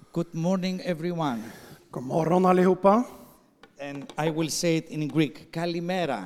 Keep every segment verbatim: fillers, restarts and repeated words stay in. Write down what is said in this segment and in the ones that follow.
Good morning, everyone. God morgon allihopa. And I will say it in Greek. Kalimera.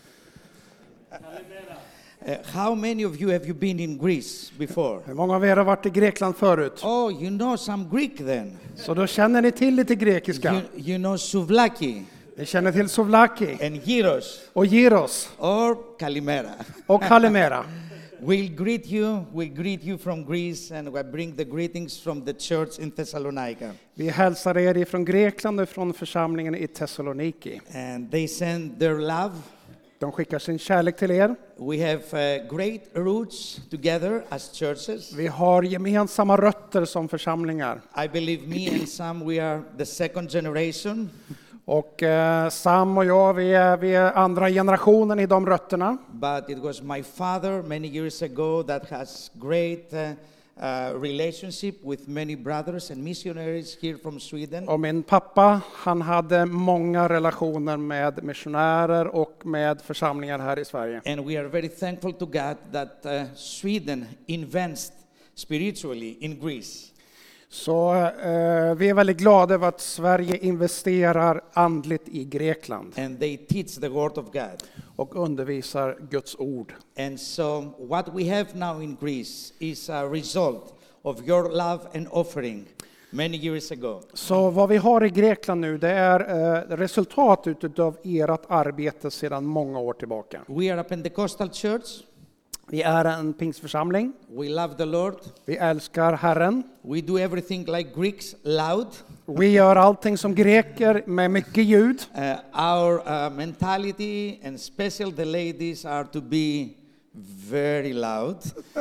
Uh, how many of you have you been in Greece before? Hur många av er har varit i Grekland förut? Oh, you know some Greek then. Så då känner ni till lite grekiska. You, you know souvlaki Ni känner till souvlaki and gyros och gyros or kalimera. och kalimera. We'll greet you. We greet you from Greece, and we bring the greetings from the church in Thessalonica. Vi hälsar er ifrån Grekland och från församlingen i Thessaloniki. And they send their love. De skickar sin kärlek till er. We have uh, great roots together as churches. Vi har gemensamma rötter som församlingar. I believe me and Sam, we are the second generation. Och eh, Sam och jag, vi är, vi är andra generationen i de rötterna. But it was my father many years ago that has great uh, uh, relationship with many brothers and missionaries here from Sweden. Och min pappa, han hade många relationer med missionärer och med församlingar här i Sverige. And we are very thankful to God that uh, Sweden invests spiritually in Greece. Så eh, vi är väldigt glada över att Sverige investerar andligt i Grekland And they teach the word of God. och undervisar Guds ord. And so what we have now in Greece is a result of your love and offering many years ago. Så vad vi har i Grekland nu, det är eh, resultat utav ert arbete sedan många år tillbaka. We are a Pentecostal church. Vi är en pingstförsamling. We love the Lord. Vi älskar Herren. We do everything like Greeks, loud. Vi gör allting som greker med mycket ljud. Uh, our uh, mentality and special the ladies are to be very loud.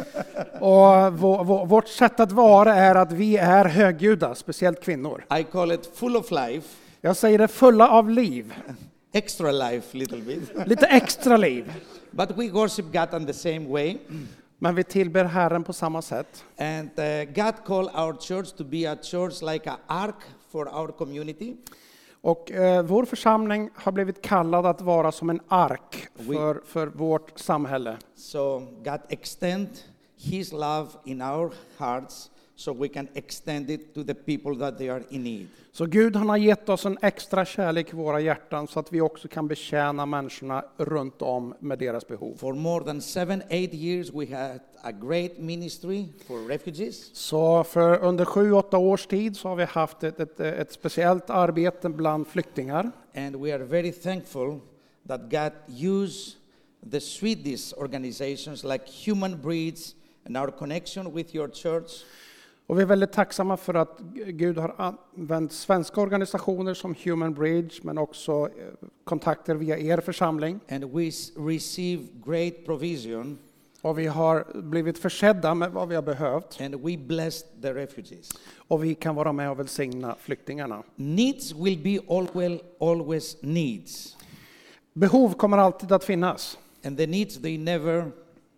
Och vår, vår, vårt sätt att vara är att vi är högljudda, speciellt kvinnor. I call it full of life, Jag säger det, fulla av liv. extra life little bit. Lite extra liv. But we worship God in the same way. Men vi tillber Herren på samma sätt. And uh, God called our church to be a church like an ark for our community. Och eh, vår församling har blivit kallad att vara som en ark för, för vårt samhälle. So God extend His love in our hearts so we can extend it to the people that they are in need. Så Gud, han har gett oss en extra kärlek i våra hjärtan så att vi också kan betjäna människorna runt om med deras behov. For more than seven, eight years we had a great ministry for refugees. Så för under sju, åtta års tid så har vi haft ett, ett, ett speciellt arbete bland flyktingar. And we are very thankful that God used the Swedish organizations like Human Breeds and our connection with your church. Och vi är väldigt tacksamma för att Gud har använt svenska organisationer som Human Bridge, men också kontakter via er församling. And we receive great provision. Och vi har blivit försedda med vad vi har behövt. And we bless the refugees. Och vi kan vara med och välsigna flyktingarna. Needs will be always, always needs. Behov kommer alltid att finnas. And the needs, they never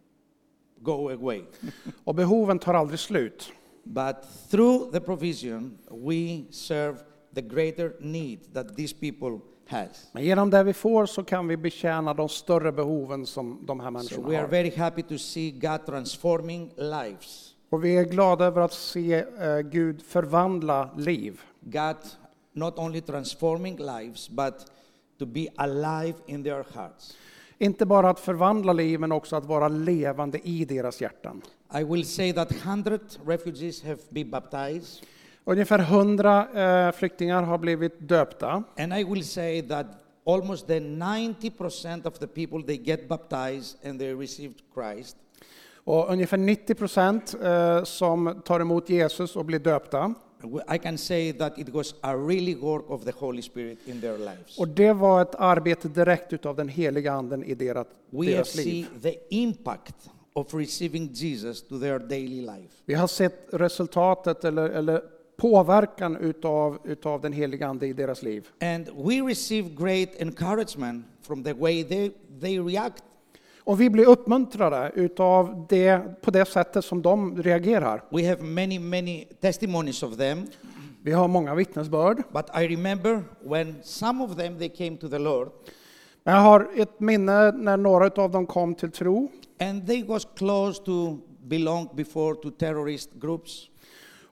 go away. Och behoven tar aldrig slut. But through the provision, we serve the greater need that these people has. Men genom det vi får så kan vi betjäna de större behoven som de här So människorna we are har. very happy to see God transforming lives. Och vi är glada över att se eh, Gud förvandla liv. God not only transforming lives, but to be alive in their hearts. Inte bara att förvandla liv, men också att vara levande i deras hjärtan. I will say that one hundred refugees have been baptized. Ungefär hundra eh, flyktingar har blivit döpta. And I will say that almost the ninety percent of the people, they get baptized and they received Christ. Och ungefär nittio procent eh, som tar emot Jesus och blir döpta. I can say that it was a really work of the Holy Spirit in their lives. Och det var ett arbete direkt utav den heliga anden i deras, We have deras seen liv. the impact of receiving Jesus to their daily life. Vi har sett resultatet eller, eller påverkan utav, utav den heliga ande i deras liv. And we receive great encouragement from the way they, they react. Och vi blir uppmuntrade utav det, på det sättet som de reagerar. We have many, many testimonies of them. Vi har många vittnesbörd. But I remember when some of them, they came to the Lord. Men jag har ett minne när några av dem kom till tro. And they was close to belong before to terrorist groups.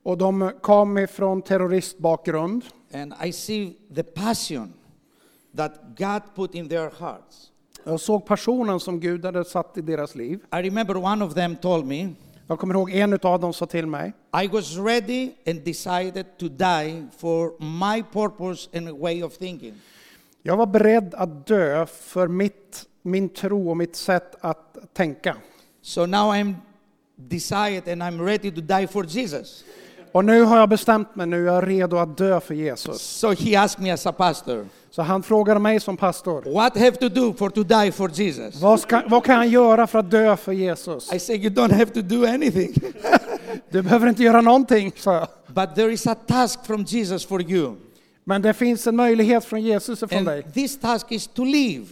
Och de kom ifrån terroristbakgrund. And I see the passion that God put in their hearts. Jag såg passionen som Gud hade satt i deras liv. I remember one of them told me, Jag kommer ihåg en av dem sa till mig. I was ready and decided to die for my purpose and way of thinking. Jag var beredd att dö för mitt, min tro och mitt sätt att tänka. So now I'm decided and I'm ready to die for Jesus. Och nu har jag bestämt mig, nu är jag redo att dö för Jesus. So he asked me as a pastor, Så han frågade mig som pastor. what have to do for to die for Jesus? Vad, ska, vad kan jag göra för att dö för Jesus? I said, you don't have to do anything. Du behöver inte göra någonting, sa jag. But there is a task from Jesus for you. Men det finns en möjlighet från Jesus ifrån And dig. this task is to live,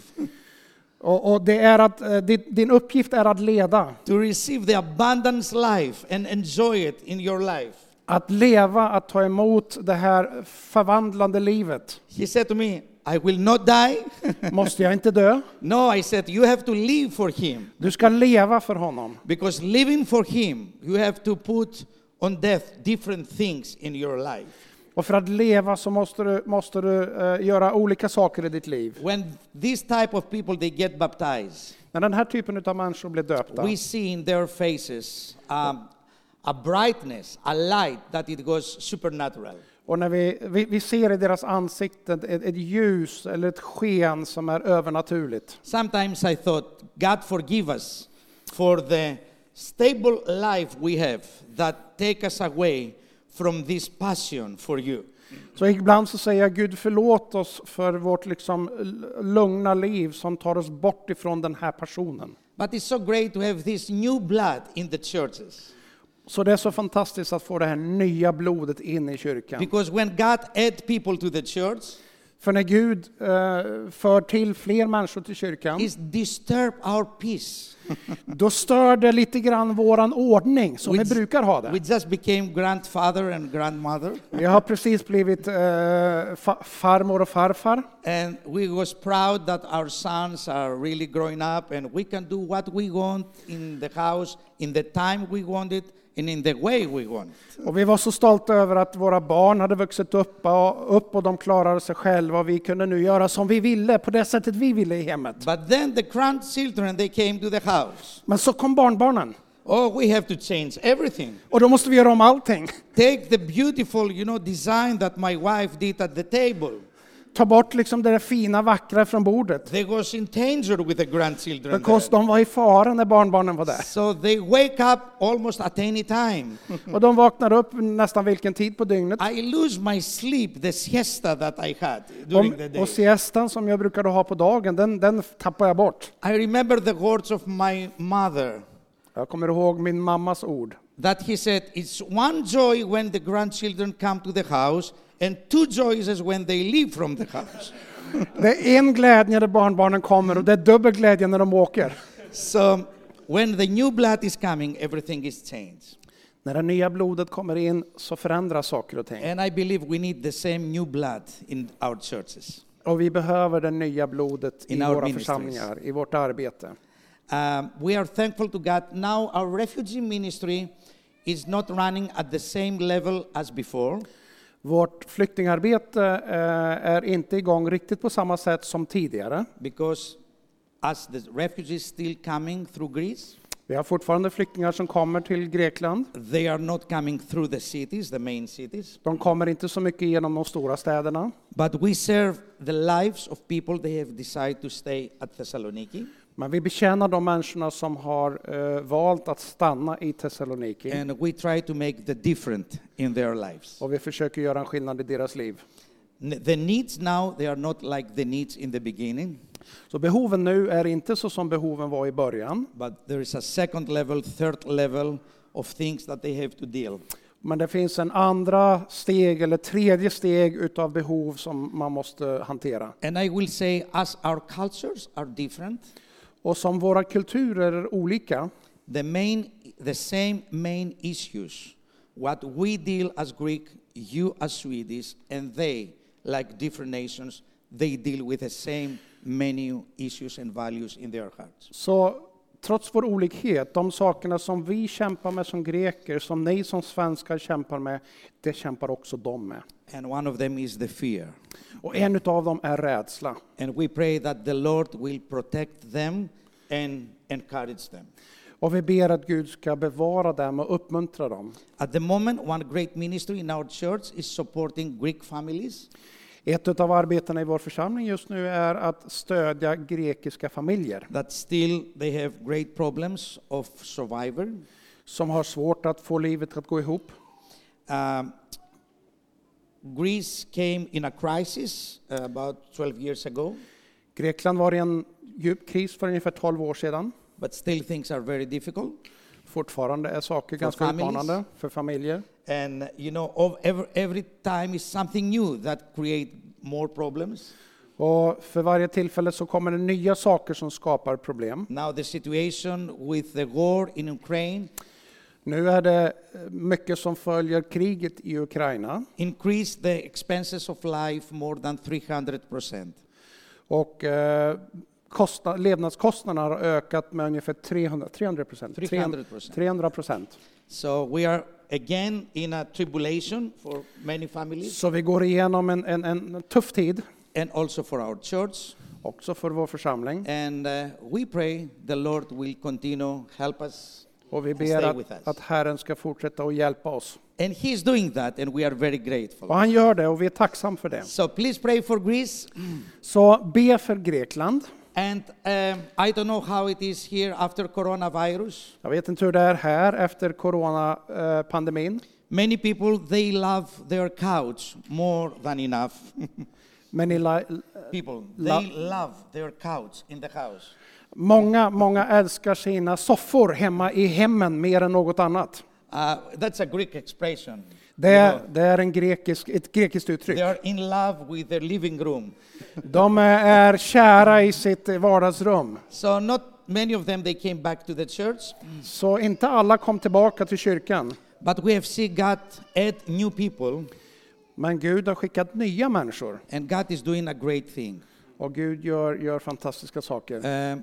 Och, och det är att, eh, din, din uppgift är att leda. to receive the abundance life and enjoy it in your life. Att leva, att ta emot det här förvandlande livet. He said to me, I will not die. Måste jag inte dö? No, I said, you have to live for him. Du ska leva för honom. Because living for him, you have to put on death different things in your life. Och för att leva så måste du, måste du eh, göra olika saker i ditt liv. When this type of people, they get baptized, När den här typen av människor blir döpta we see in their faces um, a brightness, a light that it goes supernatural. och när vi, vi, vi ser i deras ansikten ett, ett ljus eller ett sken som är övernaturligt. Sometimes I thought, God forgive us for the stable life we have that take us away from this passion for you. Så ibland så säger jag, Gud förlåt oss för vårt liksom lugna liv som tar oss bort ifrån den här passionen. But it's so great to have this new blood in the churches. Så det är så fantastiskt att få det här nya blodet in i kyrkan. Because when God add people to the church, För när Gud eh, för till fler människor till kyrkan, it disturb our peace. då stör det lite grann våran ordning som vi We- brukar ha We det. just became grandfather and grandmother, Vi har precis blivit eh, fa- farmor och farfar. and we was proud that our sons are really growing up, and we can do what we want in the house, in the time we want it, and in the way we want. Och vi var så stolta över att våra barn hade vuxit upp och, upp och de klarade sig själva. Och vi kunde nu göra som vi ville, på det sättet vi ville i hemmet. But then the grandchildren, they came to the house. Men så kom barnbarnen. Oh, we have to change everything. Och då måste vi göra om allting. Take the beautiful, you know, design that my wife did at the table. Ta bort liksom det där fina, vackra från bordet. They was in danger with the grandchildren Because there. de var i fara när barnbarnen var där. So they wake up almost at any time. Och de vaknar upp nästan vilken tid på dygnet. I lose my sleep, the siesta that I had during the Och, day. och siestan som jag brukade ha på dagen, den, den tappar jag bort. I remember the words of my mother Jag kommer ihåg min mammas ord. that he said, it's one joy when the grandchildren come to the house and two joys is when they leave from the house. Det är en glädje när barnbarnen kommer och det är dubbel glädje när de åker. So when the new blood is coming, everything is changed. När det nya blodet kommer in så förändras saker och ting. And I believe we need the same new blood in our churches. Och vi behöver det nya blodet i In our våra ministries. församlingar, i vårt arbete. Um, we are thankful to God. Now our refugee ministry is not running at the same level as before. Vårt flyktingarbete eh, är inte igång riktigt på samma sätt som tidigare. Because as the refugees still coming through Greece, Vi har fortfarande flyktingar som kommer till Grekland. they are not coming through the cities, the main cities. De kommer inte så mycket genom de stora städerna. But we serve the lives of people they have decided to stay at Thessaloniki. Men vi betjänar de människorna som har eh, valt att stanna i Thessaloniki. And we try to make the different in their lives. Och vi försöker göra en skillnad i deras liv. N- The needs now, they are not like the needs in the beginning, Så behoven nu är inte så som behoven var i början. but there is a second level, third level of things that they have to deal. Men det finns en andra steg eller tredje steg utav behov som man måste hantera. And I will say, as our cultures are different, Och som våra kulturer är olika, the main, the same main issues, what we deal as Greek, you as Swedish, and they, like different nations, they deal with the same many issues and values in their hearts. så trots vår olikhet, de sakerna som vi kämpar med som greker, som ni som svenskar kämpar med, det kämpar också de med. And one of them is the fear. Och en utav dem är rädsla. And we pray that the Lord will protect them and encourage them. Och vi ber att Gud ska bevara dem och uppmuntra dem. At the moment, one great ministry in our church is supporting Greek families. Ett av arbetena i vår församling just nu är att stödja grekiska familjer. That still they have great problems of survival. Som har svårt att få livet att gå ihop. Um, Greece came in a crisis uh, about twelve years ago. Grekland var i en djup kris för ungefär tolv år sedan. But still things are very difficult. Fortfarande är saker For ganska families. utmanande för familjer. And you know, of every, every time is something new that create more problems. Och för varje tillfälle så kommer det nya saker som skapar problem. Now the situation with the war in Ukraine Nu är det mycket som följer kriget i Ukraina. increased the expenses of life more than three hundred percent. Och eh, kostnad, levnadskostnaderna har ökat med ungefär trehundra procent. trehundra procent. So we are again in a tribulation for many families Så vi går igenom en, en, en tuff tid, and also for our church. också för vår församling. And uh, we pray the Lord will continue help us. Och vi and ber stay with att, us. att Herren ska fortsätta att hjälpa oss. And He's doing that and we are very grateful. Och han gör det och vi är tacksamma för det. So please pray for Greece. Så be för Grekland. And um, I don't know how it is here after coronavirus. Jag vet inte hur det är här efter coronapandemin. Many people, they love their couch more than enough. Men i la, People, La- they love their couch in the house. många, många älskar sina soffor hemma i hemmen mer än något annat. Uh, that's a Greek expression. Det You är, know, det är en grekisk, ett grekiskt uttryck. they are in love with their living room. De är kära i sitt vardagsrum. So not many of them, they came back to the church. Så inte alla kom tillbaka till kyrkan. But we have seen God add new people. Men Gud har skickat nya människor. And God is doing a great thing. Och Gud gör, gör fantastiska saker. Um,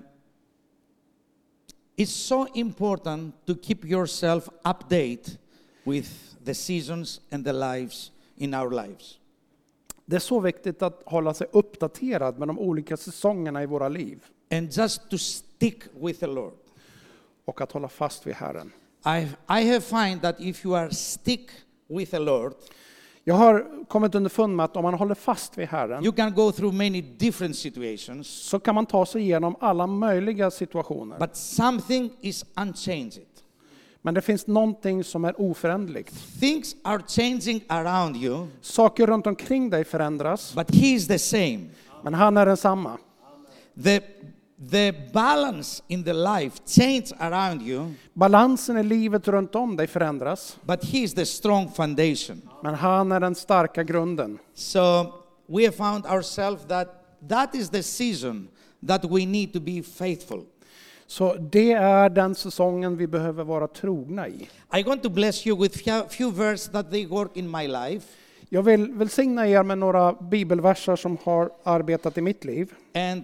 it's so important to keep yourself update with the seasons and the lives in our lives. Det är så viktigt att hålla sig uppdaterad med de olika säsongerna i våra liv. And just to stick with the Lord. Och att hålla fast vid Herren. I I have find that if you are stick with the Lord, Jag har kommit underfund med att om man håller fast vid Herren you can go through many different situations, så kan man ta sig igenom alla möjliga situationer. but something is unchanged. Men det finns någonting som är oföränderligt. Things are changing around you, Saker runt omkring dig förändras, but He is the same. men han är densamma. The the balance in the life change around you, Balansen i livet runt om dig förändras, but He is the strong foundation. men han är den starka grunden. So we have found ourselves that that is the season that we need to be faithful. Så det är den säsongen vi behöver vara trogna i. I want to bless you with few, few verses that they work in my life. Jag vill välsigna er med några bibelverser som har arbetat i mitt liv. And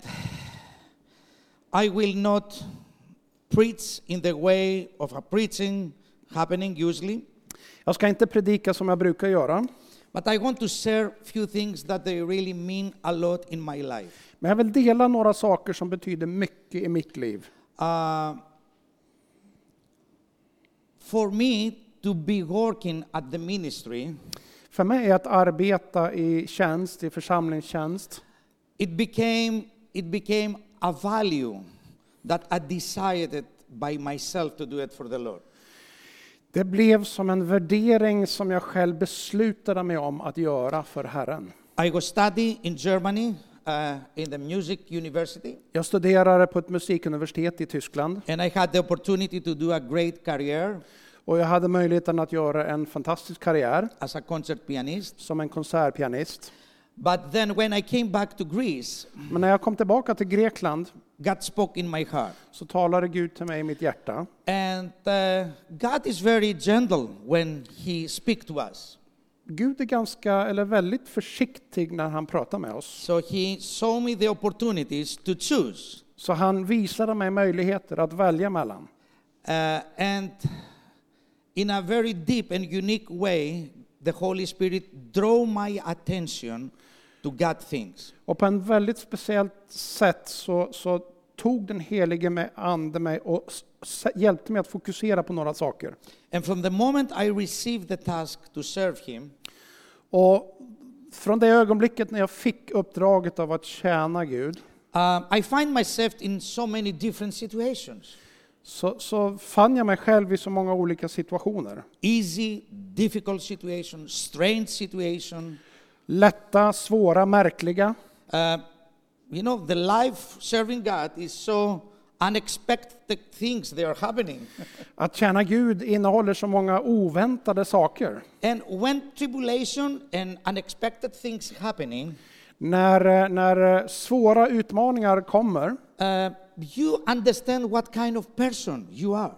I will not preach in the way of a preaching happening usually, Jag ska inte predika som jag brukar göra, but I want to share few things that they really mean a lot in my life. men jag vill dela några saker som betyder mycket i mitt liv. Uh, for me to be working at the ministry, För mig är att arbeta i tjänst, i församlingstjänst, it became it became a value that I decided by myself to do it for the Lord. det blev som en värdering som jag själv beslutade mig om att göra för Herren. I was studying in Germany uh, in the music university, Jag studerade på ett musikuniversitet i Tyskland and I had the opportunity to do a great career och jag hade möjligheten att göra en fantastisk karriär as a concert pianist. som en konsertpianist. But then when I came back to Greece, Men när jag kom tillbaka till Grekland God spoke in my heart. så talade Gud till mig i mitt hjärta. And uh, God is very gentle when He speaks to us. Gud är ganska, eller väldigt försiktig när han pratar med oss. So He showed me the opportunities to choose. Så han visade mig möjligheter att välja mellan. Uh, and in a very deep and unique way, the Holy Spirit drew my attention to God things. Och på en väldigt speciellt sätt så, så tog den helige med ande mig och s- hjälpte mig att fokusera på några saker. And from the moment I received the task to serve him, Och från det ögonblicket när jag fick uppdraget av att tjäna Gud, uh, I find myself in so many different situations. så, så fann jag mig själv i så många olika situationer. Easy, difficult situation, strange situation. Lätta, svåra, märkliga. Uh, you know, the life serving God is so unexpected things that are happening. Att tjäna Gud innehåller så många oväntade saker. And when tribulation and unexpected things happening, När, när svåra utmaningar kommer, uh, you understand what kind of person you are.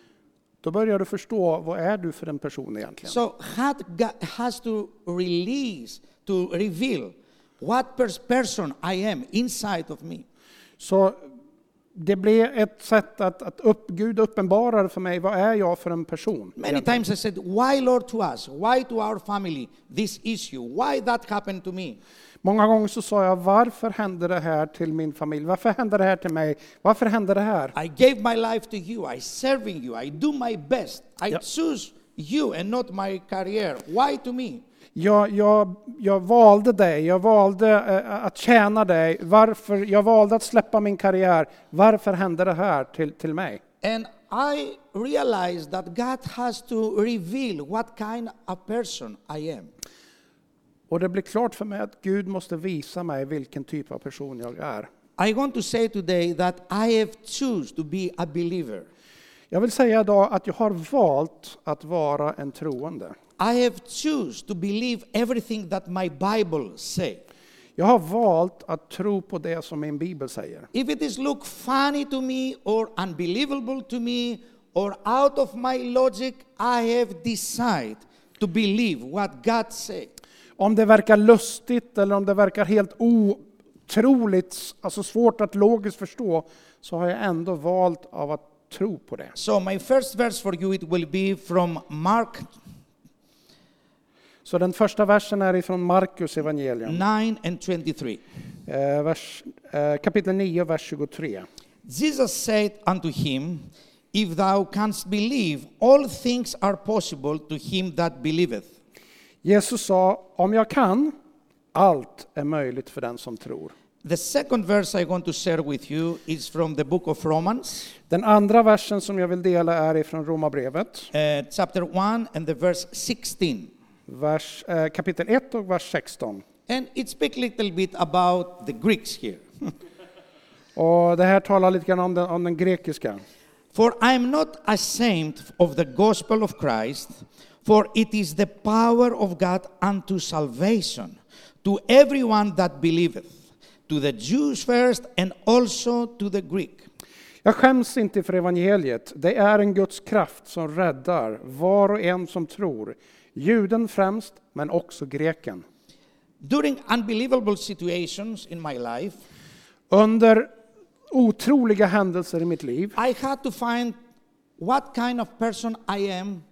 då börjar du förstå, vad är du för en person egentligen? So God ga- has to release, to reveal what pers- person I am inside of me. Så det blev ett sätt att, att upp, Gud uppenbarar för mig, vad är jag för en person? Many egentligen? times I said, why Lord to us? Why to our family? This issue? Why that happened to me? Många gånger så sa jag, varför hände det här till min familj? Varför hände det här till mig? Varför hände det här? I gave my life to you. I serving you. I do my best. I Yeah. choose you and not my career. Why to me? Jag, jag, jag valde dig, jag valde eh, att tjäna dig. Varför? Jag valde att släppa min karriär. Varför hände det här till, till mig? And I realized that God has to reveal what kind of person I am. Och det blir klart för mig att Gud måste visa mig vilken typ av person jag är. I want to say today that I have choose to be a believer. Jag vill säga idag att jag har valt att vara en troende. I have choose to believe everything that my Bible say. Jag har valt att tro på det som min bibel säger. If it is look funny to me or unbelievable to me or out of my logic, I have decided to believe what God say. Om det verkar lustigt eller om det verkar helt otroligt, alltså svårt att logiskt förstå, så har jag ändå valt av att tro på det. So my first verse for you, it will be from Mark Så den första versen är ifrån Markus evangelium, nine and twenty-three. eh, vers, eh, kapitel nio, vers tjugotre. Jesus said unto him, if thou canst believe, all things are possible to him that believeth. Jesus sa, om jag kan, allt är möjligt för den som tror. The second verse I want to share with you is from the book of Romans, Den andra versen som jag vill dela är ifrån Romarbrevet, uh, chapter one and the verse sixteen. vers, eh, kapitel ett och vers sexton. And it speaks a little bit about the Greeks here. Och det här talar lite grann om den, om den grekiska. For I am not ashamed of the gospel of Christ, for it is the power of God unto salvation, to everyone that believeth, to the Jews first and also to the Greek. Jag skäms inte för evangeliet. Det är en Guds kraft som räddar var och en som tror. Juden främst, men också greken. During unbelievable situations in my life, Under otroliga händelser i mitt liv I had to find what kind of person I am.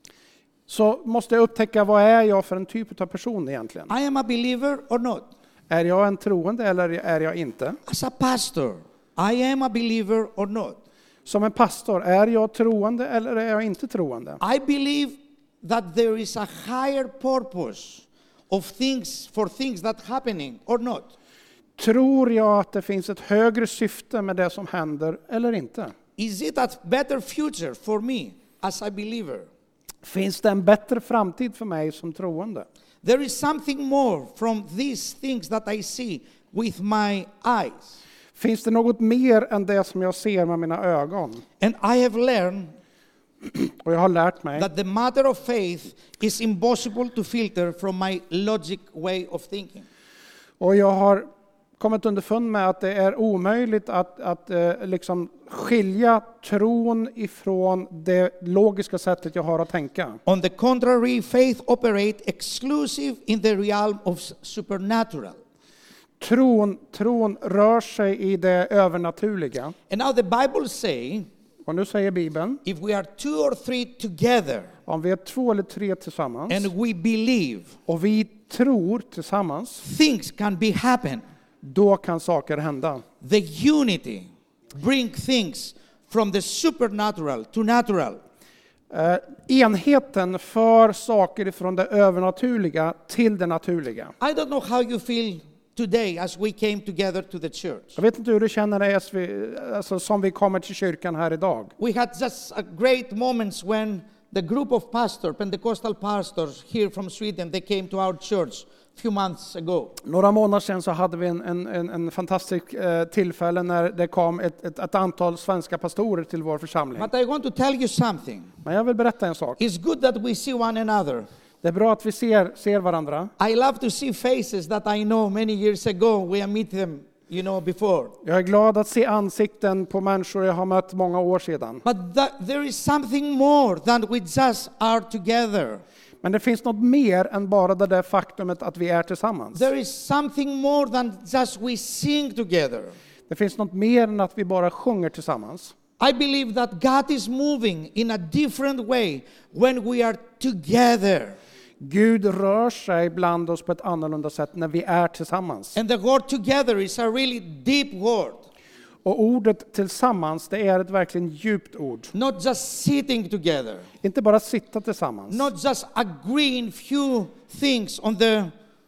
så måste jag upptäcka, vad är jag för en typ av person egentligen? I am a believer or not. Är jag en troende eller är jag inte? As a pastor, I am a believer or not. Som en pastor, är jag troende eller är jag inte troende? I believe that there is a higher purpose of things for things that happening or not. Tror jag att det finns ett högre syfte med det som händer eller inte? Is it a better future for me as a believer? Finns det en bättre framtid för mig som troende? There is something more from these things that I see with my eyes. Finns det något mer än det som jag ser med mina ögon? And I have learned Och jag har lärt mig that the matter of faith is impossible to filter from my logic way of thinking. och jag har kommit underfund med att det är omöjligt att, att eh, liksom skilja tron ifrån det logiska sättet jag har att tänka. On the contrary, faith operates exclusive in the realm of supernatural. Tron, tron rör sig i det övernaturliga. And now the Bible say, Och nu säger Bibeln, if we are two or three together om vi är två eller tre tillsammans and we believe, och vi tror tillsammans, things can be happen. då kan saker hända. The unity bring things from the supernatural to natural. Eh, enheten för saker från det övernaturliga till det naturliga. I don't know how you feel today as we came together to the church. Jag vet inte hur du känner dig as vi, alltså, som vi kommer till kyrkan här idag. We had just a great moments when the group of pastors, Pentecostal pastors here from Sweden, they came to our church a few months ago. Några månader sedan så hade vi en, en, en, en fantastisk eh, tillfälle när det kom ett, ett, ett antal svenska pastorer till vår församling. But I want to tell you something. Men jag vill berätta en sak. It's good that we see one another. Det är bra att vi ser, ser varandra. I love to see faces that I know many years ago. We have met them, you know, before. Jag är glad att se ansikten på människor jag har mött många år sedan. But that, there is something more than we just are together. Men det finns något mer än bara det där faktumet att vi är tillsammans. There is something more than just we sing together. Det finns något mer än att vi bara sjunger tillsammans. I believe that God is moving in a different way when we are together. Gud rör sig bland oss på ett annorlunda sätt när vi är tillsammans. And the word together is a really deep word. Och ordet tillsammans, det är ett verkligen djupt ord. Not just sitting together. Inte bara sitta tillsammans. Not just agreeing few things on the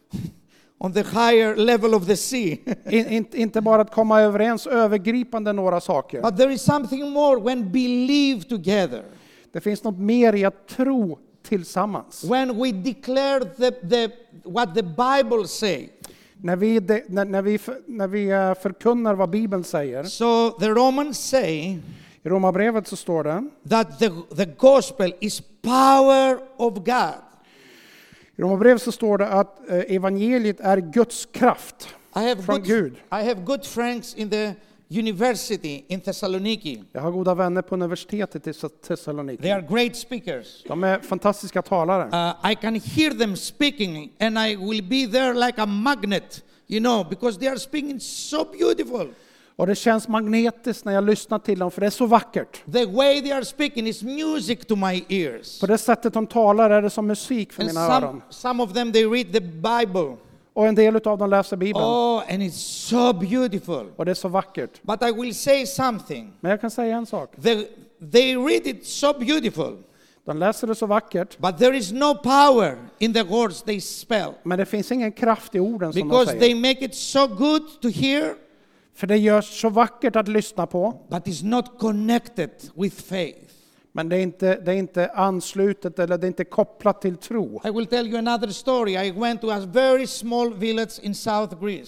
on the higher level of the sea. In, in, inte bara att komma överens övergripande några saker. But there is something more when believe together. Det finns något mer i att tro tillsammans. When we declare the, the, what the Bible say. När vi, de, när, när, vi, när vi förkunnar vad Bibeln säger. So the Romans say I Romarbrevet så står det that the, the gospel is power of God. I Romarbrevet så står det att evangeliet är Guds kraft I have från good, Gud. I have good friends in the university in Thessaloniki. Jag har goda vänner på universitetet i Thessaloniki. They are great speakers. De är fantastiska talare. Uh, I can hear them speaking and I will be there like a magnet, you know, because they are speaking so beautiful. Och det känns magnetiskt när jag lyssnar till dem, för det är så vackert. The way they are speaking is music to my ears. På det sättet de talar är det som musik för And mina some, öron. some of them, they read the Bible. Och en del av dem läser Bibeln. Oh, and it's so beautiful. Och det är så vackert. But I will say something. Men jag kan säga en sak. They, they read it so beautiful. De läser det så vackert. But there is no power in the words they spell. Men det finns ingen kraft i orden som de Because säger. they make it so good to hear. För det görs så vackert att lyssna på. But it's not connected with faith. Men det är inte, det är inte anslutet eller det är inte kopplat till tro. I will tell you another story. I went to a very small village in South Greece.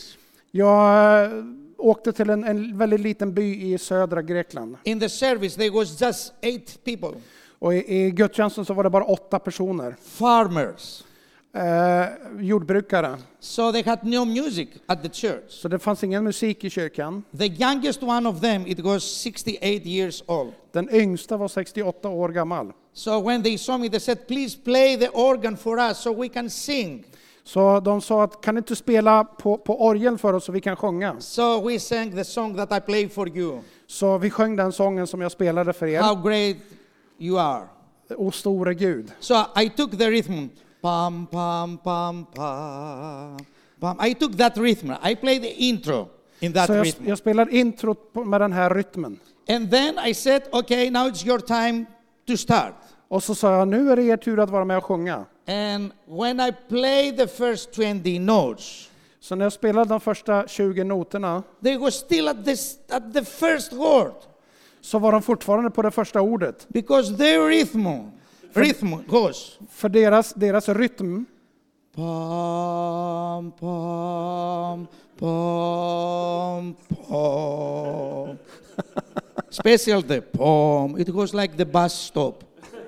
Jag äh, åkte till en, en väldigt liten by i södra Grekland. In the service there was just eight people. Och i, i gudstjänsten så var det bara åtta personer. Farmers. Eh, jordbrukare. So they had no music at the church. Så det fanns ingen musik i kyrkan. The youngest one of them, it was sixty-eight years old. Den yngsta var sextioåtta år gammal. So when they saw me, they said, please play the organ for us so we can sing. Så de sa att kan du inte spela på, på orgeln för oss så vi kan sjunga. So we sang the song that I played for you. Så vi sjöng den sången som jag spelade för er. How great you are. O store Gud. So I took the rhythm. Pam, pam, pam, pam, pam. I took that rhythm. I played the intro in that Så jag, rhythm. jag spelar introt på- med den här rytmen. And then I said, okay, now it's your time to start. Och så sa jag, nu är det er tur att vara med och sjunga. And when I played the first twenty notes, Så när jag spelade de första tjugo noterna they were still at, this, at the first word. så var de fortfarande på det första ordet. Because their rhythm, rhythm goes. För deras, deras rytm Pam, pam, pam, pam. Special the pam. It goes like the bus stop.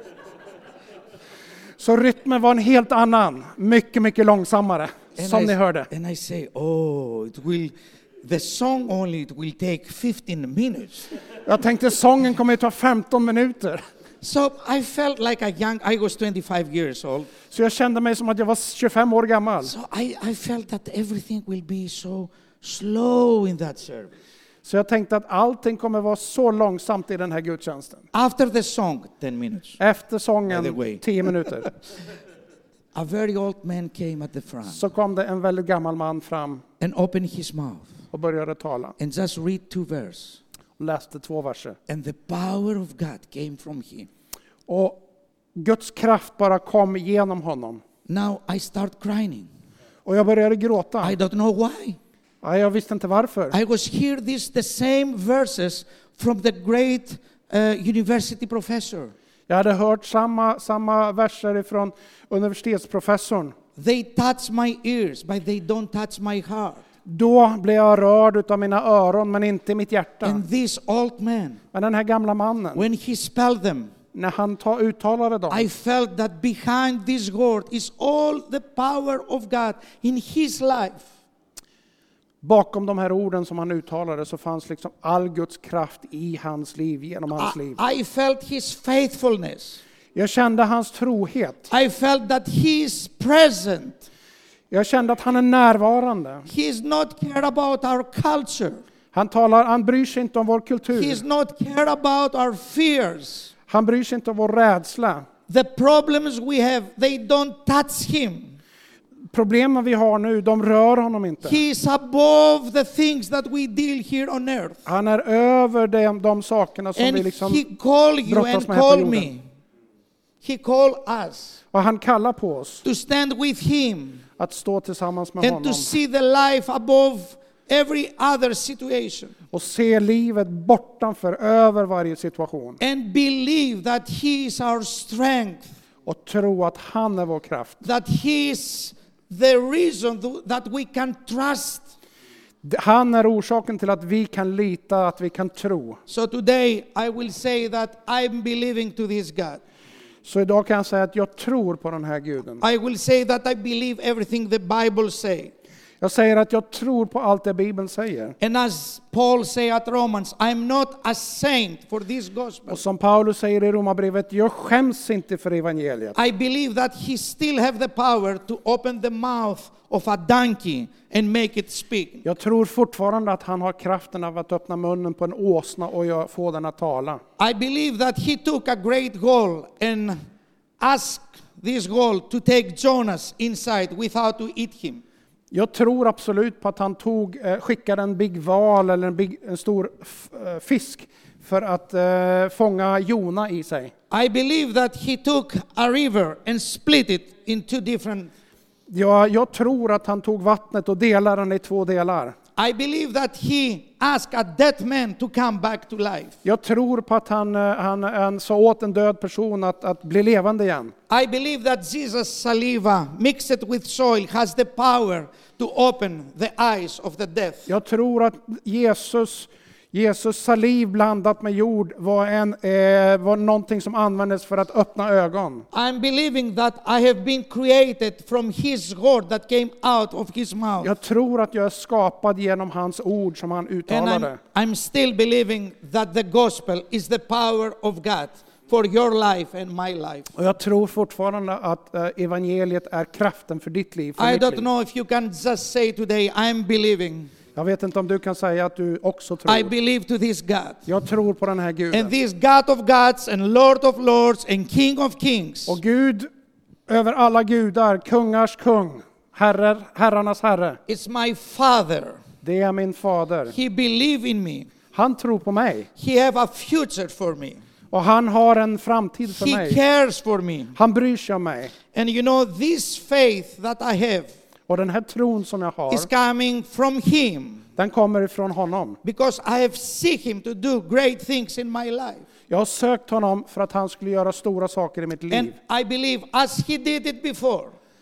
Så rytmen var en helt annan, mycket, mycket långsammare, And som I, ni hörde. and I say, oh, it will, the song only, it will take fifteen minutes. Jag tänkte sången kommer att ta femton minuter. So I felt like a young, I was twenty-five years old. Så jag kände mig som att jag var tjugofem år gammal. So I, I felt that everything will be so slow in that service. Så jag tänkte att allting kommer vara så långsamt i den här gudstjänsten. After the song, ten minutes. Efter By the sången, way. tio minuter, A very old man came at the front så kom det en väldigt gammal man fram and opened his mouth och började tala. and just read two verses. Och läste två verser. And the power of God came from him. Och Guds kraft bara kom genom honom. Now I start crying. Och jag började gråta. I don't know why. Ja, jag visste inte varför. I was hear this the same verses from the great uh, university professor. Jag hade hört samma, samma verser från universitetsprofessorn. They touch my ears, but they don't touch my heart. Då blev jag rörd av mina öron, men inte mitt hjärta. And this old man, Men den här gamla mannen, when he spelled them, när han ta, uttalade dem, I felt that behind this word is all the power of God in his life. bakom de här orden som han uttalade så fanns liksom all Guds kraft i hans liv, genom hans liv. I, I felt his faithfulness. Jag kände hans trohet. I felt that he is present. Jag kände att han är närvarande. He is not care about our culture. Han talar, han bryr sig inte om vår He kultur. is not care about our fears. Han bryr sig inte om vår rädsla. The problems we have, they don't touch him. Problemen vi har nu, de rör honom inte. He is above the things that we deal here on earth. Han är över de, de sakerna som And vi liksom he call you brottas and med här på call jorden. me. He call us Och han kallar på oss to stand with him att stå tillsammans med and honom to see the life above every other situation. och se livet bortanför, över varje situation. And believe that he is our strength. Och tro att han är vår kraft. That he is the reason th- that we can trust. Han är orsaken till att vi kan lita, att vi kan tro. So today I will say that I'm believing to this God. Så idag kan jag säga att jag tror på den här guden. I will say that I believe everything the Bible say. Jag säger att jag tror på allt det Bibeln säger. And as Paul say at Romans, I'm not a saint for this gospel. Och som Paulus säger i Romarbrevet, jag skäms inte för evangeliet. I believe that he still have the power to open the mouth of a donkey and make it speak. Jag tror fortfarande att han har kraften av att öppna munnen på en åsna och jag får den att tala. I believe that he took a great goal and asked this goal to take Jonas inside without to eat him. Jag tror absolut på att han tog, eh, skickade en big val eller en, big, en stor f- eh, fisk för att eh, fånga Jona i sig. I believe that he took a river and split it into different. Ja, jag tror att han tog vattnet och delade den i två delar. I believe that he asked a dead man to come back to life. Jag tror på att han, eh, han, han sa åt en död person att, att bli levande igen. I believe that Jesus' saliva mixed with soil has the power to open the eyes of the deaf. Jag tror att Jesus, Jesus saliv blandat med jord var, en, eh, var någonting som användes för att öppna ögon. I'm believing that I have been created from his word that came out of his mouth. Jag tror att jag är skapad genom hans ord som han And I'm, uttalade. I'm still believing that the gospel is the power of God for your life and my life. Och jag tror fortfarande att eh, evangeliet är kraften för ditt liv. För I mitt don't liv. know if you can just say today, I'm believing. Jag vet inte om du kan säga att du också I tror. believe to this God. Jag tror på den här And guden. this God of gods and Lord of lords and King of kings. Och Gud över alla gudar, kungars kung, herrar, herrarnas herre. It's my Father. Det är min fader. He believe in me. Han tror på mig. He have a future for me. Och han har en framtid för He mig. cares for me. Han bryr sig om mig. And you know, this faith that I have Och den här tron som jag har, is coming from him. den kommer ifrån honom. Because I have seen him to do great things in my life. Jag har sökt honom för att han skulle göra stora saker i mitt And liv. I believe as he did it before,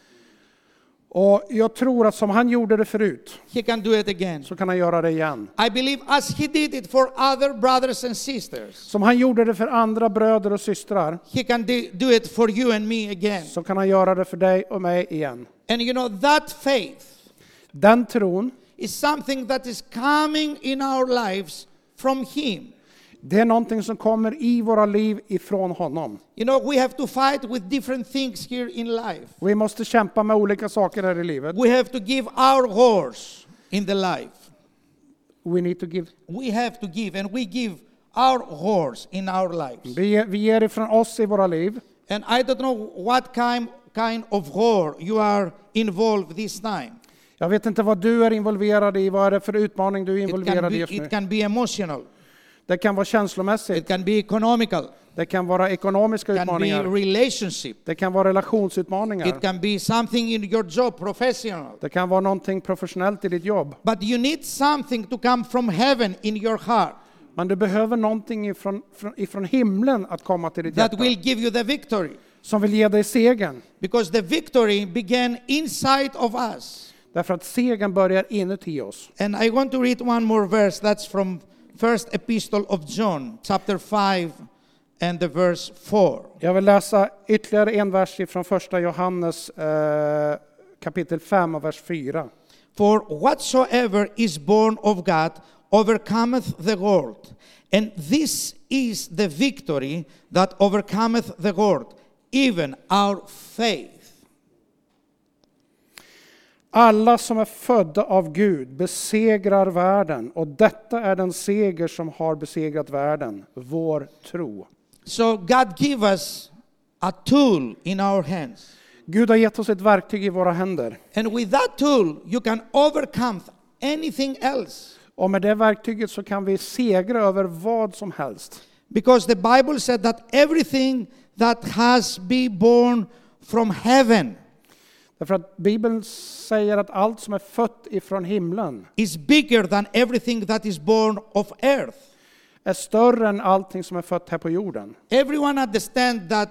Och jag tror att som han gjorde det förut, he can do it again. så kan han göra det igen. I believe as he did it for other brothers and sisters, Som han gjorde det för andra bröder och systrar, he can do do it for you and me again. så kan han göra det för dig och mig igen. And you know, that faith Den tron, is something that is coming in our lives from him. det är någonting som kommer i våra liv ifrån honom. You know, we have to fight with different things here in life. Vi måste kämpa med olika saker här i livet. We have to give our horse in the life. we need to give. We have to give, and we give our horse in our lives. Vi, vi ger ifrån oss i våra liv. And I don't know what kind, kind of war you are involved this time. Jag vet inte vad du är involverad i, vad är det för utmaning du är It can, involverad be, i just nu. it can be emotional. Det kan vara It känslomässigt, can be economical. det kan vara ekonomiska It can be utmaningar, relationship. det kan vara relationsutmaningar, It can be something in your job, professional. det kan vara någonting professionellt i ditt jobb. But you need something to come from heaven in your heart Men du behöver någonting ifrån, ifrån, ifrån himlen att komma till ditt that hjärta, will give you the victory. som vill ge dig segern. Because the victory began inside of us. Därför att segern börjar inuti oss. And I want to read one more verse. That's from First Epistle of John, chapter five and the verse four. Jag vill läsa ytterligare en vers från första Johannes eh, kapitel fem och vers fyra. For whatsoever is born of God overcometh the world. And this is the victory that overcometh the world, even our faith. Alla som är födda av Gud besegrar världen, och detta är den seger som har besegrat världen, vår tro. So God give us a tool in our hands. Gud har gett oss ett verktyg i våra händer. And with that tool you can overcome anything else. Och med det verktyget så kan vi segra över vad som helst. Because the Bible said that everything that has been born from heaven Därför att Bibeln säger att allt som är fött ifrån himlen is bigger than everything that is born of earth. är större än allting som är fött här på jorden. Everyone understand that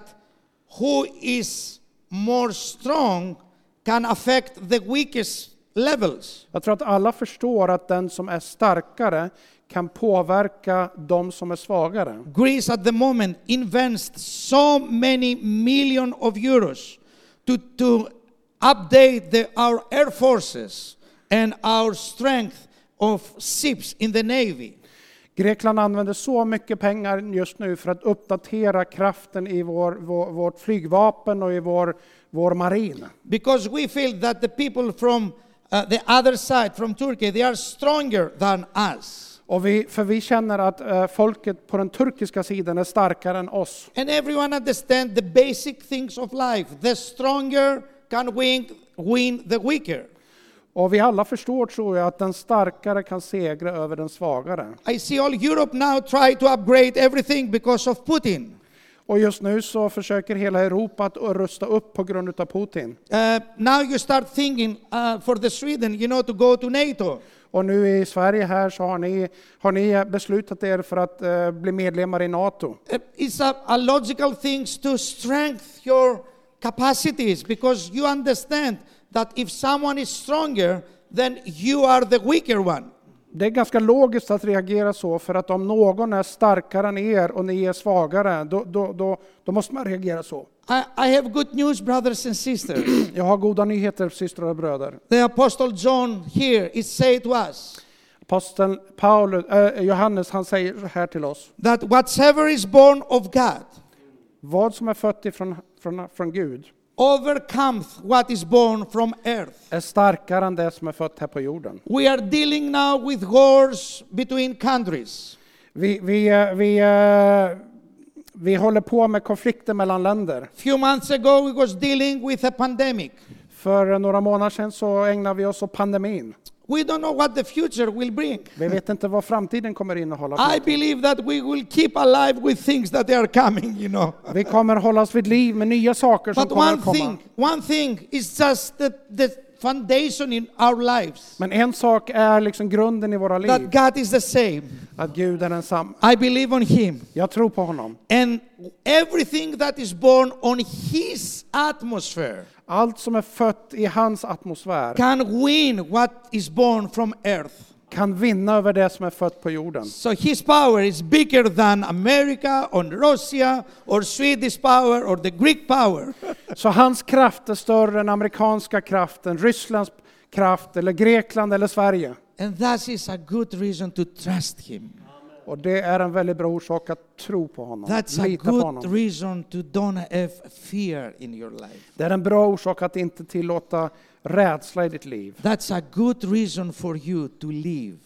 who is more strong can affect the weakest levels. Jag tror att alla förstår att den som är starkare kan påverka de som är svagare. Greece at the moment invests so many million of euros to, to update the, our air forces and our strength of ships in the navy. Grekland använder så mycket pengar just nu för att uppdatera kraften i vår, vår, vårt flygvapen och i vår, vår marin. Because we feel that the people from uh, the other side, from Turkey, they are stronger than us. Och vi, för vi känner att uh, folket på den turkiska sidan är starkare än oss. And everyone understand the basic things of life. The stronger can win, win the weaker. Och vi alla förstår, tror jag, att den starkare kan segra över den svagare. I see all Europe now try to upgrade everything because of Putin. Och just nu så försöker hela Europa att rusta upp på grund av Putin. Uh, now you start thinking uh, for the Sweden, you know, to go to NATO. Och nu i Sverige här så har ni, har ni beslutat er för att uh, bli medlemmar i NATO. Uh, it's a, a logical thing to strengthen your capacities because you understand that if someone is stronger, then you are the weaker one. Det är ganska logiskt att reagera så, för att om någon är starkare än er och ni är svagare, då, då, då, då måste man reagera så. I, I have good news, brothers and sisters. Jag har goda nyheter, systrar och bröder. The Apostle John here is saying to us Aposteln Paulus, äh, Johannes, han säger så här till oss. that whatsoever is born of God Vad som är fött ifrån, från, från Gud overcomes what is born from earth. är starkare än det som är fött här på jorden. We are dealing now with wars between countries. Vi, vi, eh, vi, eh, vi håller på med konflikter mellan länder. Few months ago we was dealing with a pandemic. För några månader sedan så ägnar vi oss åt pandemin. We don't know what the future will bring. Vi vet inte vad framtiden kommer innehålla. I believe that we will keep alive with things that are coming, you know. Vi kommer hållas vid liv med nya saker som But kommer one att komma. thing, one thing is just the, the foundation in our lives. Men en sak är liksom grunden i våra liv. That God is the same. Att Gud är densamma. I believe on Him. Jag tror på honom. And everything that is born on His atmosphere Allt som är fött i hans atmosfär can win what is born from earth. kan vinna över det som är fött på jorden. So His power is bigger than America or Russia or Swedish power or the Greek power. Så hans kraft är större än amerikanska kraften, Rysslands kraft eller Grekland eller Sverige. And that is a good reason to trust Him. Och det är en väldigt bra orsak att tro på honom. That's a Lita på good honom. reason to don't have fear in your life. Det är en bra orsak att inte tillåta rädsla i ditt liv. That's a good reason for you to live.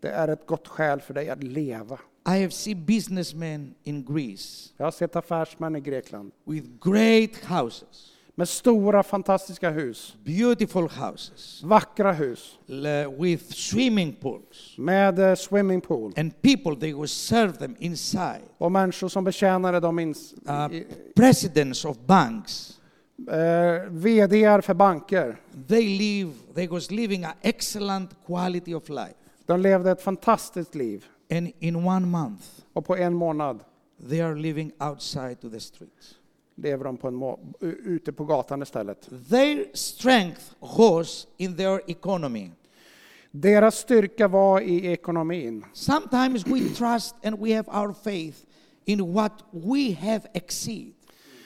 Det är ett gott skäl för dig att leva. I have seen businessmen in Greece Jag har sett affärsmän i Grekland with great houses, med stora fantastiska hus, beautiful houses, vackra hus l- with swimming pools, med eh, swimmingpool and people, they will serve them inside. och människor som betjänade dem, ins, Uh, i- presidents of banks, eh, vd:ar för banker. they live, they was living an excellent quality of life. De levde ett fantastiskt liv And in one month, och på en månad they are living outside to the streets. lever de på en må- u- ute på gatan istället. Their strength was in their economy. Deras styrka var i ekonomin. Sometimes we trust and we have our faith in what we have exceed.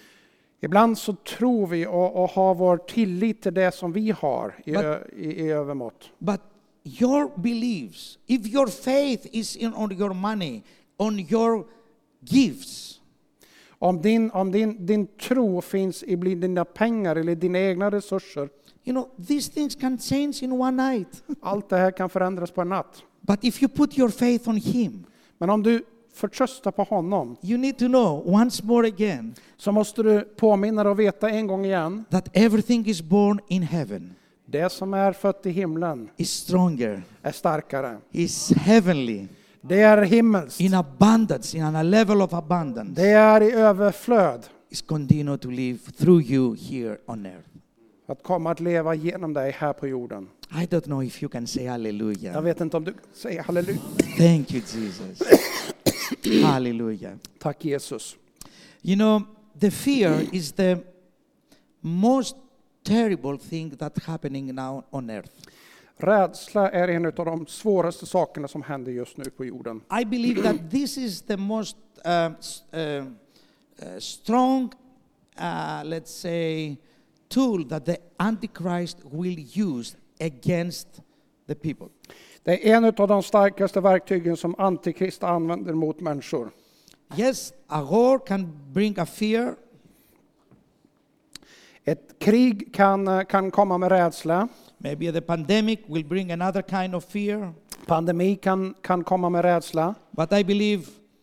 Ibland så tror vi och, och har vår tillit till det som vi har i, But- ö, i, i övermått. But your beliefs, if your faith is in on your money, on your gifts, Om, din, om din, din tro finns i bli- dina pengar eller dina egna resurser, you know, these things can change in one night. allt det här kan förändras på en natt. But if you put your faith on Him, Men om du förtröstar på honom, you need to know once more again så måste du påminna dig och veta en gång igen, that everything is born in heaven det som är fött i himlen is stronger, är starkare. is heavenly, Det är himmelskt. in abundance, in a level of abundance, Det är i överflöd is continue to live through you here on earth. att komma att leva genom dig här på jorden. I don't know if you can say Jag hallelujah. vet inte om du säger halleluja. Thank you, Jesus. Hallelujah. Tack Jesus. You know, the fear is the most terrible thing that's happening now on earth. Rädsla är en av de svåraste sakerna som händer just nu på jorden. I believe that this is the most uh, s- uh, uh, strong, uh, let's say, tool that the Antichrist will use against the people. Det är en av de starkaste verktygen som Antikrist använder mot människor. Yes, a war can bring a fear, Ett krig kan, kan komma med rädsla. maybe the pandemic will bring another kind of fear, Pandemi kan, kan komma med rädsla. but I believe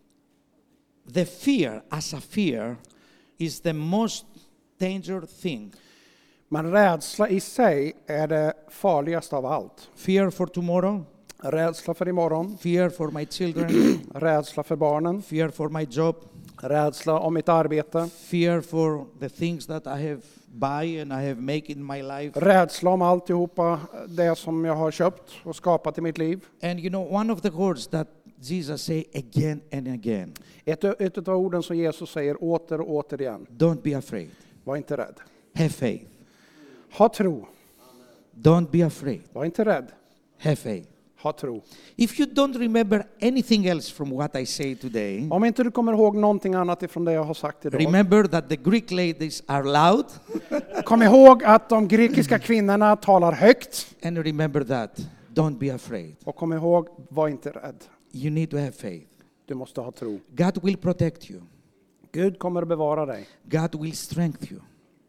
the fear as a fear is the most dangerous thing. Men rädsla i sig är det farligaste av allt. Fear for tomorrow, Rädsla för imorgon, fear for my children, rädsla för barnen, fear for my job, rädsla om mitt arbete, fear for the things that I have buy and I have make in my life. rädsla om alltihopa det som jag har köpt och skapat i mitt liv. And you know, one of the words that Jesus say again and again, Ett, ett av orden som Jesus säger åter och åter igen. don't be afraid, Var inte rädd. have faith. Ha tro. Don't be afraid, Var inte rädd. have faith. Ha tro. If you don't remember anything else from what I say today, Om inte du kommer ihåg någonting annat ifrån det jag har sagt idag. remember that the Greek ladies are loud, Kom ihåg att de grekiska kvinnorna talar högt. and remember that, don't be afraid. Och kom ihåg, var inte rädd. You need to have faith. Du måste ha tro. God will protect you. Gud kommer att bevara dig. God will strengthen you.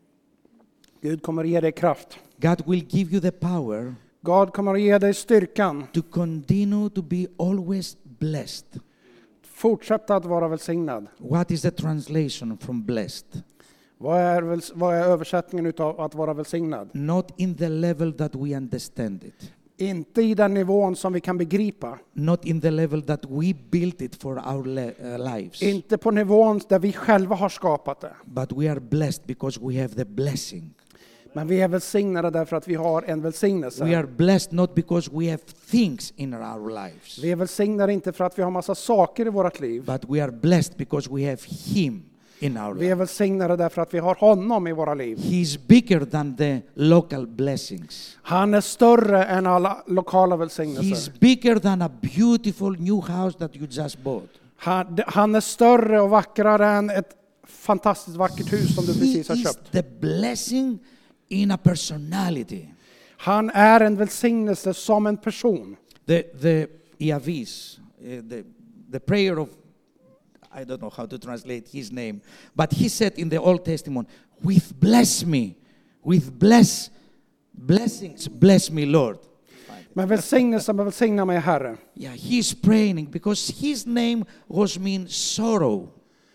Gud kommer att ge dig kraft. God will give you the power Gud kommer att ge dig styrkan. to continue to be always blessed. Fortsätta att vara välsignad. What is the translation from blessed? Vad är, väls- vad är översättningen utav att vara välsignad? Not in the level that we understand it. Inte i den nivån som vi kan begripa. Not in the level that we built it for our le- uh, lives. Inte på nivån där vi själva har skapat det. But we are blessed because we have the blessing. Men vi är välsignade därför att vi har en välsignelse. We are blessed not because we have things in our lives. Vi är välsignade inte för att vi har massa saker i vårt liv. But we are blessed because we have Him in our Vi är life. välsignade därför att vi har honom i våra liv. He is bigger than the local blessings. Han är större än alla lokala He is välsignelser. bigger than a beautiful new house that you just bought. Han, han är större och vackrare än ett fantastiskt vackert hus som du He precis har is köpt. the blessing in a personality. Han är en välsignelse som en person. The the Iavis, uh, the the prayer of, I don't know how to translate his name, but he said in the Old Testament, "With bless me, with bless blessings, bless me, Lord." Men välsignelsen välsigna mig, Herre. Yeah, he's praying because his name was mean sorrow.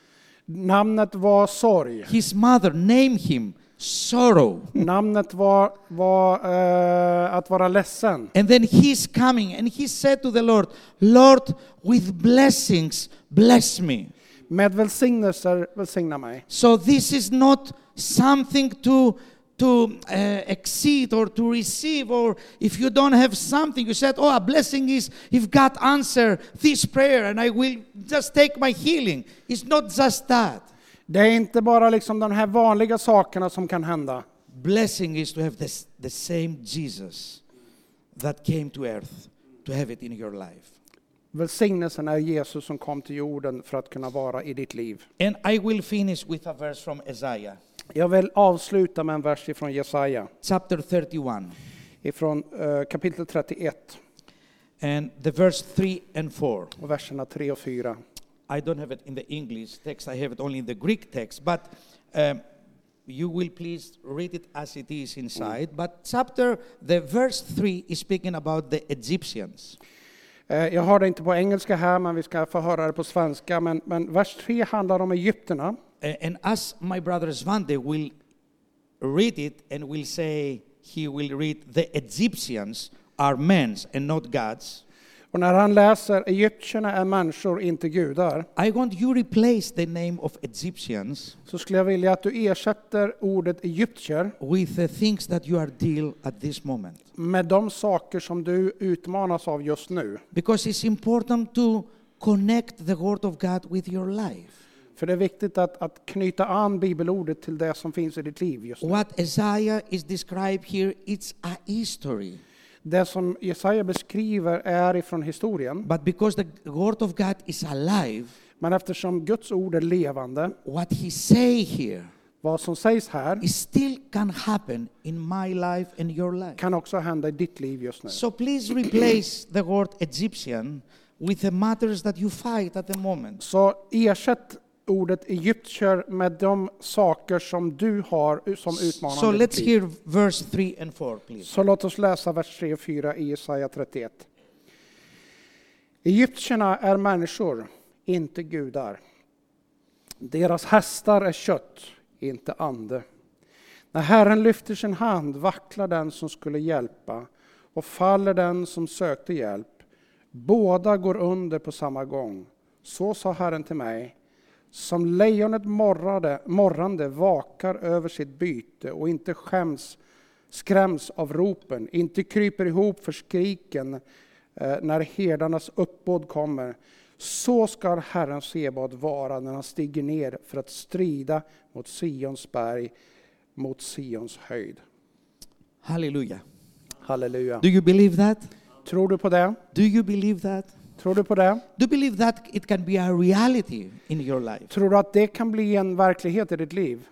Namnet var sorg. His mother named him sorrow. Namnet var, var eh, att vara ledsen. And then he's coming and he said to the Lord, Lord, with blessings, bless me. Med välsignelser välsigna mig. So this is not something to to uh, exceed or to receive, or if you don't have something, you said, oh, a blessing is if God answer this prayer and I will just take my healing. It's not just that. Det är inte bara liksom de här vanliga sakerna som kan hända. Blessing is to have this, the same Jesus that came to earth, to have it in your life. Välsignelsen är Jesus som kom till jorden för att kunna vara i ditt liv. And I will finish with a verse from Isaiah. Jag vill avsluta med en vers ifrån Jesaja. Chapter thirty-one. Ifrån uh, kapitel trettioett. And the verse three and four. Och verserna tre och fyra. I don't have it in the English text, I have it only in the Greek text, but um, you will please read it as it is inside. Mm. But chapter, the verse three is speaking about the Egyptians. Uh, jag har det inte på engelska här, men vi ska få höra det på svenska. Men, men vers tre handlar om Egypterna. And as my brother Svante will read it and will say, he will read the Egyptians are men's and not God's. Och när han läser Egyptierna är människor, inte gudar. I want you replace the name of Egyptians. Så skulle jag vilja att du ersätter ordet egyptier with the things that you are deal at this moment. Med de saker som du utmanas av just nu. Because it's important to connect the word of God with your life. För det är viktigt att, att knyta an bibelordet till det som finns i ditt liv just nu. What Isaiah is described here, it's a history. Det som Jesaja beskriver är ifrån historien. But because the word of God is alive, men eftersom Guds ord är levande, what he say here, vad som sägs här, it still can happen in my life and your life. Kan också hända i ditt liv just nu. So please replace the word Egyptian with the matters that you fight at the moment. Så ersätt ordet egyptier med de saker som du har som utmanar. So let's hear verse three and four, please. Så låt oss läsa vers tre och fyra i Jesaja trettioett. Egyptierna är människor, inte gudar. Deras hästar är kött, inte ande. När Herren lyfter sin hand vacklar den som skulle hjälpa och faller den som sökte hjälp. Båda går under på samma gång. Så sa Herren till mig. Som lejonet morrade, morrande vakar över sitt byte och inte skäms, skräms av ropen, inte kryper ihop för skriken eh, när herdarnas uppbåd kommer. Så ska Herren Sebad vara när han stiger ner för att strida mot Sions berg, mot Sions höjd. Halleluja. Halleluja. Do you believe that? Tror du på det? Do you believe that? Tror du på det? Do you believe that it can be a reality in your life? Tror du att det kan bli en verklighet i ditt liv?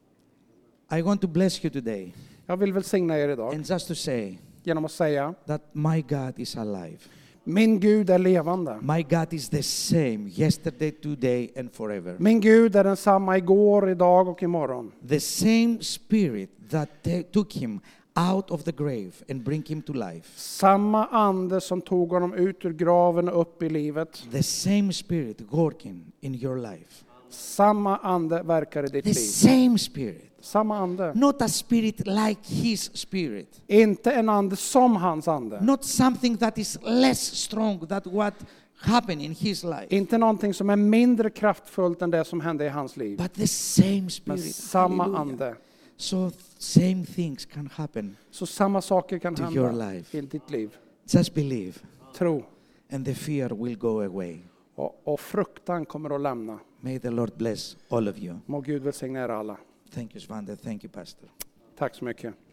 I want to bless you today. Jag vill välsigna er idag and just to say genom att säga that my God is alive. Min Gud är levande. My God is the same yesterday, today and forever. Min Gud är densamma igår, idag och imorgon. The same spirit that t- took him out of the grave and bring him to life. Samma ande som tog honom ut ur graven och upp i livet. The same spirit working in your life. Samma ande verkar i ditt The liv. same spirit. Samma ande. Not a spirit like his spirit. Inte en ande som hans ande. Not something that is less strong than what happened in his life. Inte någonting som är mindre kraftfullt än det som hände i hans liv. But the same Men spirit. samma Hallelujah. ande. So same things can happen. Så samma saker kan To your hända life. i ditt liv. Just believe Tro. and the fear will go away. Och, och fruktan kommer att lämna. May the Lord bless all of you. Må Gud välsigna er alla. Thank you, Svante. Thank you, Pastor. Tack så mycket.